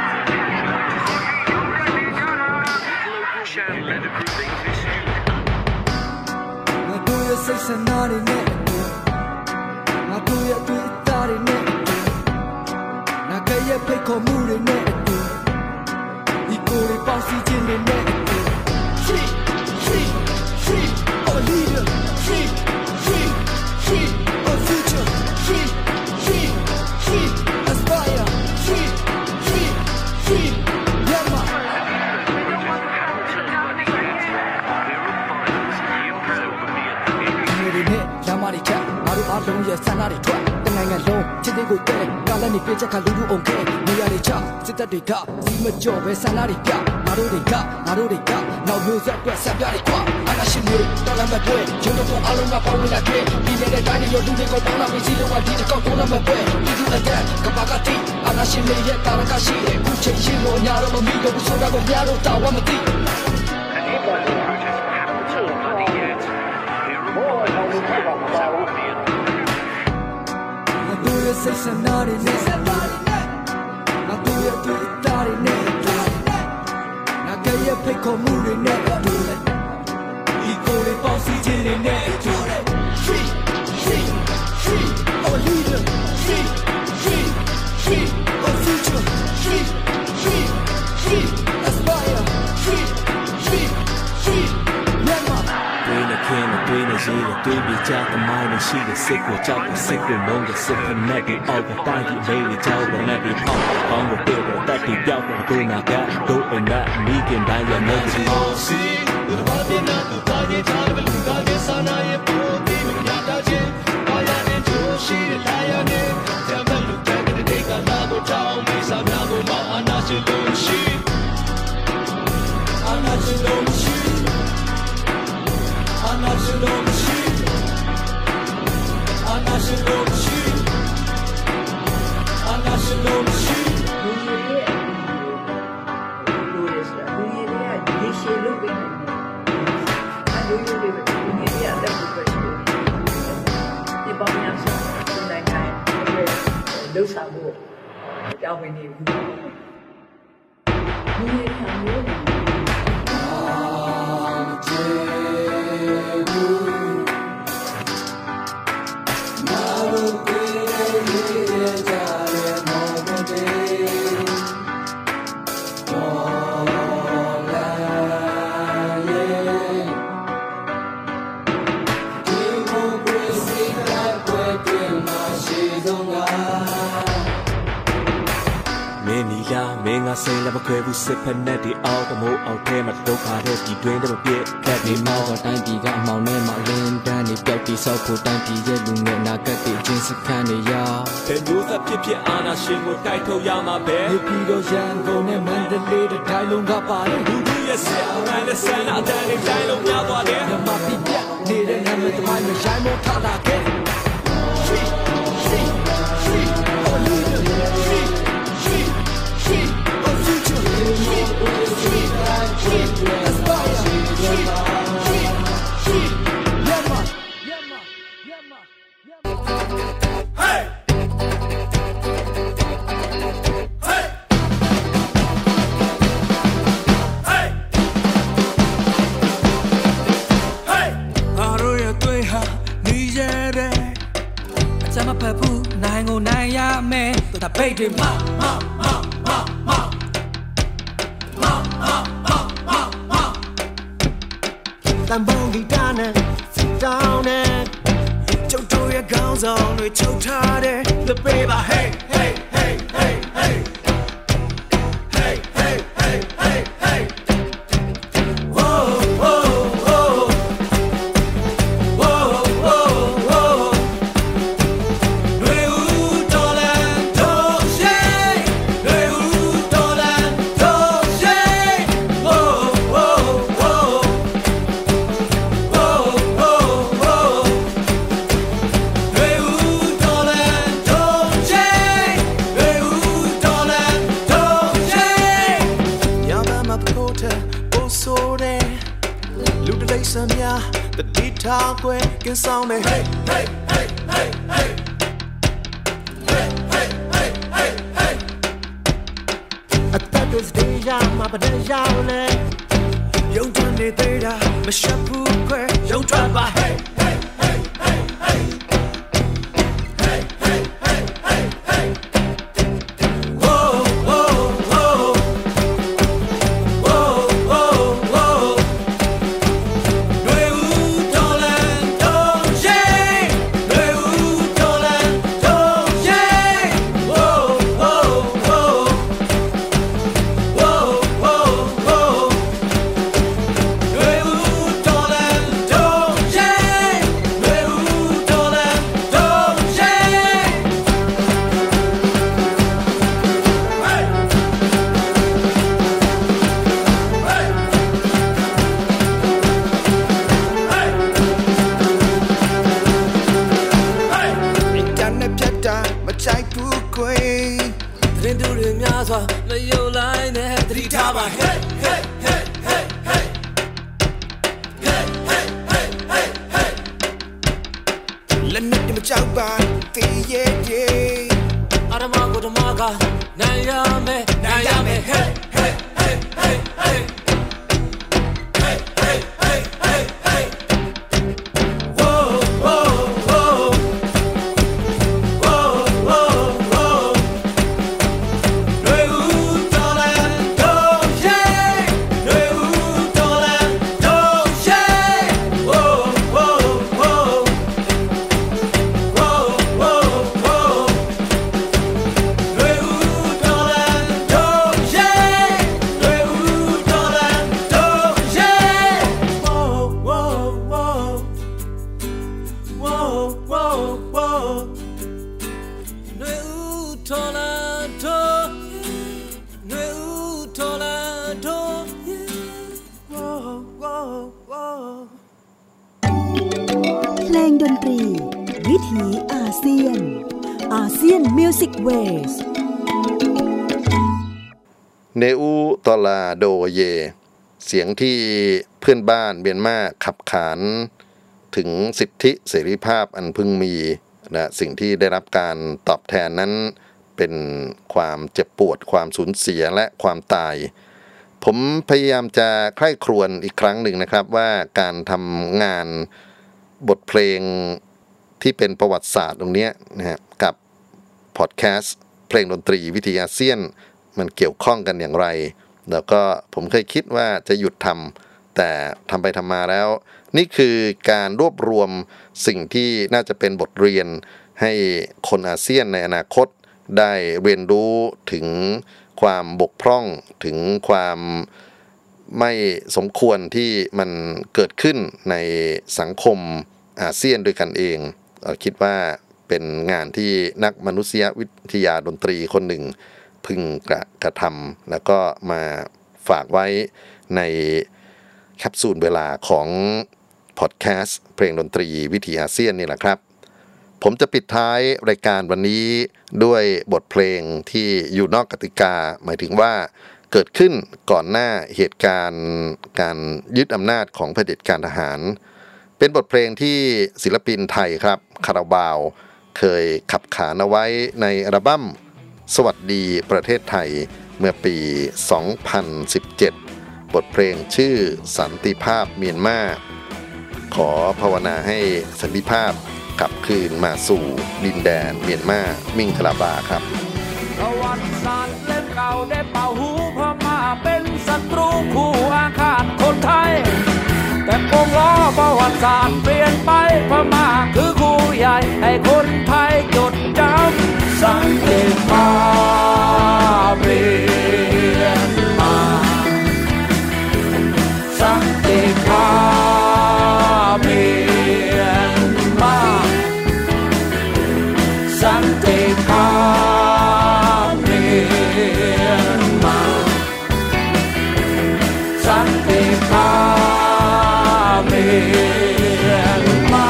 global Chan led a group English student.Free, free, free, our leader. Free, free, free, our future. Free, free, free, aspire. Free, free, free, Myanmar. Yamari chat, Maru Along, yes, Sanari Trap.နိုင်ငံလုံးချစ်တဲ့ကိုတဲ့ကာလနဲ့ပြချက်ခါလူလူအောင်ခဲနေရတဲ့ချစစ်တပ်တွေကစီမကြော်ပဲဆန္ဒတွေပြငါတို့တွေကငါတို့တွေကနောက်မျိုးဆက်အတွက်ဆက်ပြတယ်ကွာအာနာရှင်တွေတော်လမ်းမပွဲကျုံတို့အလုံးကပေါင်းလာတဲ့ဒီနေတဲ့တိုင်းတွေလူတွေကိုတောင်းလာပြီးစီလုံးဝဒီတစ်ကောက်တောင်းလာမပွဲဒီလူအတဲ့ကဘာကတိအာနာရှင်တွေရဲ့တာရကရှိတဲ့ခုချိန်ရှိလို့ညာတော့မမီတော့ဘူးဆိုတာကိုများလို့တာဝမသိစိတ်ဆန္ဒတွေနဲ့ငါတို့ရဲ့တွေ့တာတွေနဲ့ငါကရဲ့ဖိတ်ခေါ်မှုတွေနဲ့ဒီကိုယ်လေးပေါင်းစည်းခြင်းတွေနဲ့ Free, free, free, our leader. Free, free, free, our future. Free, free, free, aspire. Free, free, free, Myanmar.တွေ့နေခင်တွေ့နေရှိတယ်တွေ့ပြီးကြတဲ့မိုင်းနဲ့ရှိတဲ့စိတ်ကိုကြောက်တဲ့စိတ်ကိုလုံးတဲ့စိတ်ကိုနဲ့ပြီးအောက်ကတိုင်းကြီးလေးတွေကြောက်တဲ့နဲ့ပြီးပေါက်ပေါင်းကိုတွေ့တဲ့တက်ပြီးပြောက်တဲ့ကိုနာကတို့အနာမိခင်တိုင်းရဲ့နေစီစီဘာပြနာတူတိုင်းရဲ့ထားတဲ့လူသားရဲ့စာနာရဲ့ပို့ပြီးရတာချင်းဘာရတဲ့သူရှိတဲ့လာရတဲ့တမန်လူတဲ့တဲ့ကလာကိုတောင်းမိစားများကိုမအာနာရှိလို့ရှိအာနာရှိလို့ရှိလှုပ်ဆောင်ဖို့ကြောင်းဝင်နေဘူးဒီနေ့ခံလို့မင်းငါစိတ်လည်းမခွဲဘူးစစ်ဖက်နဲ့ဒီအောက်တမိုးအောက်ထဲမှာဒုက္ခတဲ့ဒီတွင်းတွေမပြည့်ခက်နေမောတော့တိုင်းပြည်ကအမောင်နဲ့မှလင်းတန်းနေပျောက်ပြီးဆောက်ဖို့တိုင်းပြည်ရဲ့လူငယ်နာကတဲ့ချင်းစခန်းနေရတဲ့မျိုးသက်ဖြစ်ဖြစ်အာနာရှင်ကိုတိုက်ထုတ်ရမှာပဲဒီပြည်တော်ရန်ကုန်နဲ့မန္တလေးတဲ့တိုင်းလုံးကပါတယ်လူလူရဲ့ဆရာရန်တဲ့ဆန္ဒအတန်းနဲ့တိုင်းလုံးများသွားတယ်မြမပြပြနေတဲ့နာမည်တမိုင်းမရိုင်းမထလာခဲ့ရှိရှိရှိဟိုလူရှိရှိရှိနိုင်ကိုနိုင်ရမယ်တပိတ်တွေမမမမမတန်ပုံဒီတာနဲ့တောင်းနဲ့ကျုပ်တို့ရဲ့ခေါင်းဆောင်တွေချုပ်ထားတယ် The baby hey hey hey hey hey hey hey hey hey hey whoa whoa whoa whoa whoa whoa we u dolan do shay we u dolan do shay whoa whoa whoa the detail que can sound me hey hey hey hey hey hey hey hey hey hey at that is deja ma ba deja le yong twan ne te da ma shat pu que yong twan ba hey hey hey hey hey hey hey hey hey hey whoa whoa whoa whoa whoa whoaเนอูตอลาโดเยเสียงที่เพื่อนบ้านเมียนมาขับขานถึงสิทธิเสรีภาพอันพึงมีและสิ่งที่ได้รับการตอบแทนนั้นเป็นความเจ็บปวดความสูญเสียและความตายผมพยายามจะใคร่ครวญอีกครั้งหนึ่งนะครับว่าการทำงานบทเพลงที่เป็นประวัติศาสตร์ตรงนี้นะฮะกับพอดแคสต์เพลงดนตรีวิถีอาเซียนมันเกี่ยวข้องกันอย่างไรแล้วก็ผมเคยคิดว่าจะหยุดทำแต่ทำไปทำมาแล้วนี่คือการรวบรวมสิ่งที่น่าจะเป็นบทเรียนให้คนอาเซียนในอนาคตได้เรียนรู้ถึงความบกพร่องถึงความไม่สมควรที่มันเกิดขึ้นในสังคมอาเซียนด้วยกันเองคิดว่าเป็นงานที่นักมนุษยวิทยาดนตรีคนหนึ่งพึงกระทำแล้วก็มาฝากไว้ในแคปซูลเวลาของพอดแคสต์เพลงดนตรีวิถีอาเซียนนี่แหละครับผมจะปิดท้ายรายการวันนี้ด้วยบทเพลงที่อยู่นอกกติกาหมายถึงว่าเกิดขึ้นก่อนหน้าเหตุการณ์การยึดอำนาจของเผด็จการทหารเป็นบทเพลงที่ศิลปินไทยครับคาราบาวเคยขับขานเอาไว้ในอัลบั้มสวัสดีประเทศไทยเมื่อปี สองพันสิบเจ็ด บทเพลงชื่อสันติภาพเมียนมาขอภาวนาให้สันติภาพกลับคืนมาสู่ดินแดนเมียนมามิ่งคลาบาครับประวัติศาสตร์เล่มเก่าได้เป่าหูพม่าเป็นศัตรูคู่อาฆาตคนไทยแต่คงล้อประวัติศาสตร์เปลี่ยนไปพม่าคือคู่ใหญ่ให้คนไทยจดจำสันติภาพเมียนมาสันติภาพเมียนมาสันติภาพเมียนมาสันติภาพเมียนมา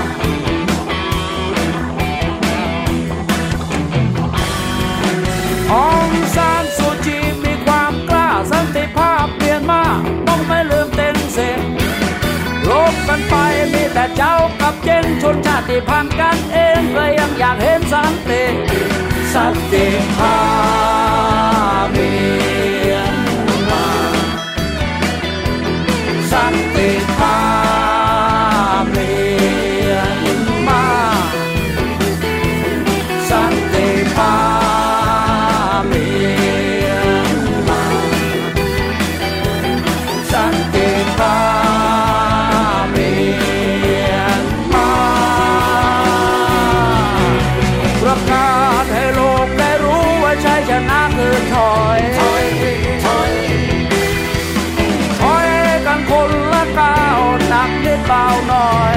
องซานซูจีมีความกล้าสันติภาพเมียนมาต้องไม่ลืมเต้นเสียงลบกันไปมีแต่เจ้ากับเจนชนชาติพันธุ์กันเองเลยยังอยากเห็นสันติสันติภาพเมียนมาสันติภาพเมียนมาสันติภาพเมียนมาสันติภาพเมียนมาประกาศให้โลกได้รู้ว่าชัยชนะคือถอยถอยถอยถอยกันคนละก้าวหนักนิดเบาหน่อย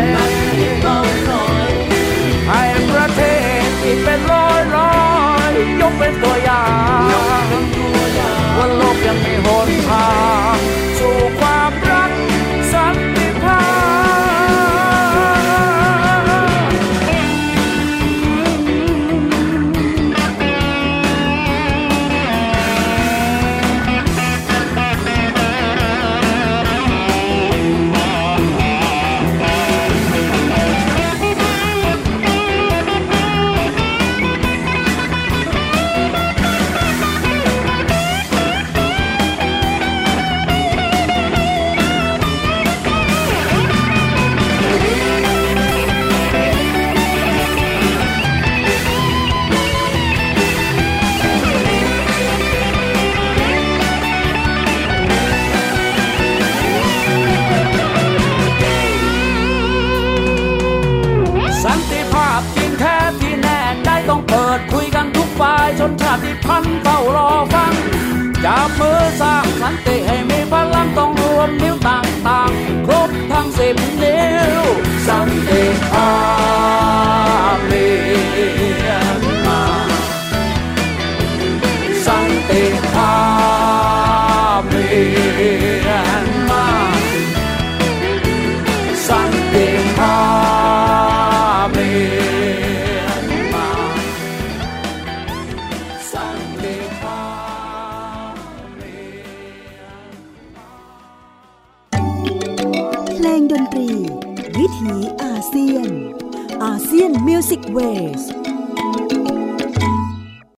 ให้ประเทศที่เป็นร้อยร้อยยกเป็นตัวอย่างว่าโลกยังมีหนทางสู่ความรักสันติภาพสันติภาพจริงแท้ที่แน่ใจต้องเปิดคุยกันทุกฝ่ายชนชาติพันธุ์เฝ้ารอฟังจับมือสร้างสันติให้มีพลังต้องรวมนิ้วต่างๆครบทั้งสิบนิ้วสันติภาพเมียนมาสันติภาพเมียนมาสันติภาพเมียนมาสันติภาพเมียนมาเพลงดนตรีวิถีอาเซียนอาเซียน Music Ways